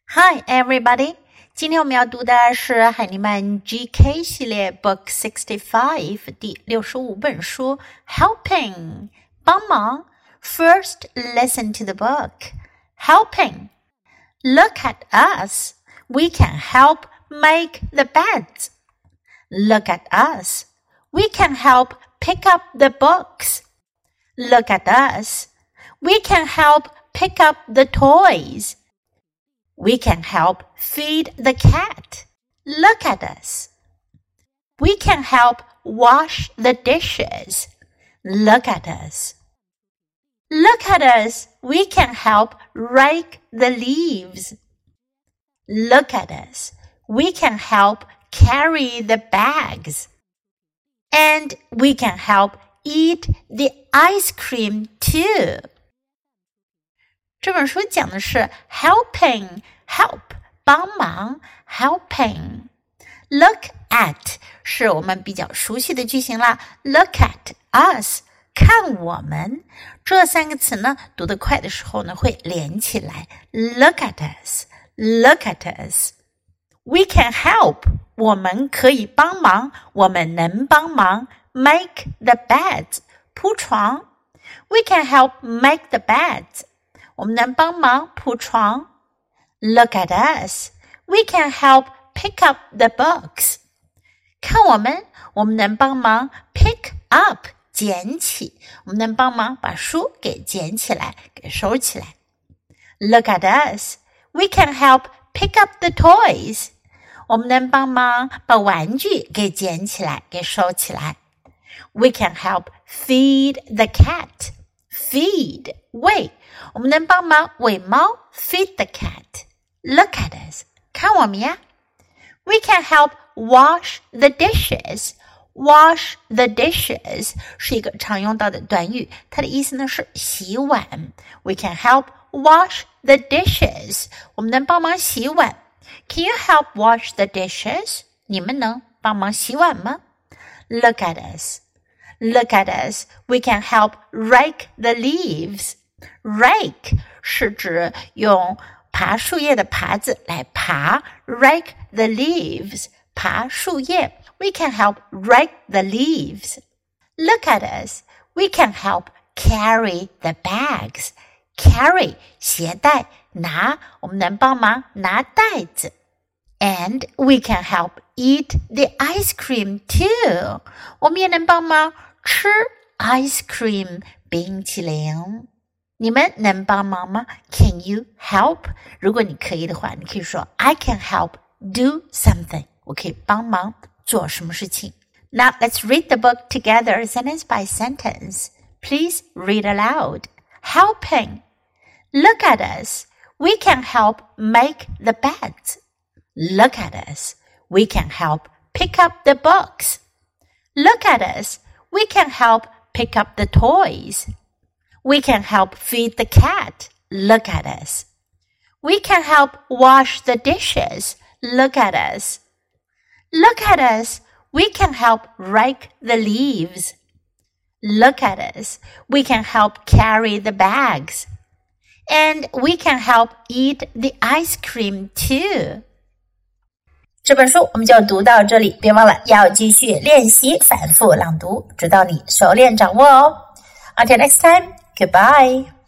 Hi everybody! 今天我们要读的是海尼曼 GK 系列 Book 65第65本书 Helping 帮忙 First listen to the book Helping Look at us We can help make the beds Look at us We can help pick up the books Look at us We can help pick up the toys.We can help feed the cat. Look at us. We can help wash the dishes. Look at us. Look at us. We can help rake the leaves. Look at us. We can help carry the bags. And we can help eat the ice cream too.这本书讲的是 helping, help, 帮忙 helping. Look at 是我们比较熟悉的句型啦 Look at us, 看我们这三个词呢，读得快的时候呢，会连起来 Look at us, look at us. We can help, 我们可以帮忙，我们能帮忙 Make the beds, 铺床 We can help make the beds.我们能帮忙铺床 Look at us. We can help pick up the books. 看我们能帮忙 pick up 捡起我们能帮忙把书给捡起来给收起来 Look at us. We can help pick up the toys. 我们能帮忙把玩具给捡起来给收起来 We can help feed the cat. Feed 喂我们能帮忙喂猫 Feed the cat. Look at us. 看我们呀 We can help wash the dishes. Wash the dishes 是一个常用到的短语，它的意思呢是洗碗 We can help wash the dishes. 我们能帮忙洗碗 Can you help wash the dishes? 你们能帮忙洗碗吗 Look at us. Look at us. We can help rake the leaves.Rake 是指用爬树叶的耙子来爬 Rake the leaves 爬树叶 We can help rake the leaves Look at us We can help carry the bags Carry 携带拿我们能帮忙拿袋子 And we can help eat the ice cream too 我们也能帮忙吃 ice cream 冰淇淋你们能帮忙吗 Can you help? 如果你可以的话你可以说 I can help do something 我可以帮忙做什么事情 Now let's read the book together sentence by sentence Please read aloud Helping Look at us We can help make the beds Look at us We can help pick up the books Look at us We can help pick up the toys.We can help feed the cat. Look at us. We can help wash the dishes. Look at us. Look at us. We can help rake the leaves. Look at us. We can help carry the bags. And we can help eat the ice cream too. 这本书我们就读到这里，别忘了要继续练习反复朗读，直到你熟练掌握哦。Until next time.Goodbye.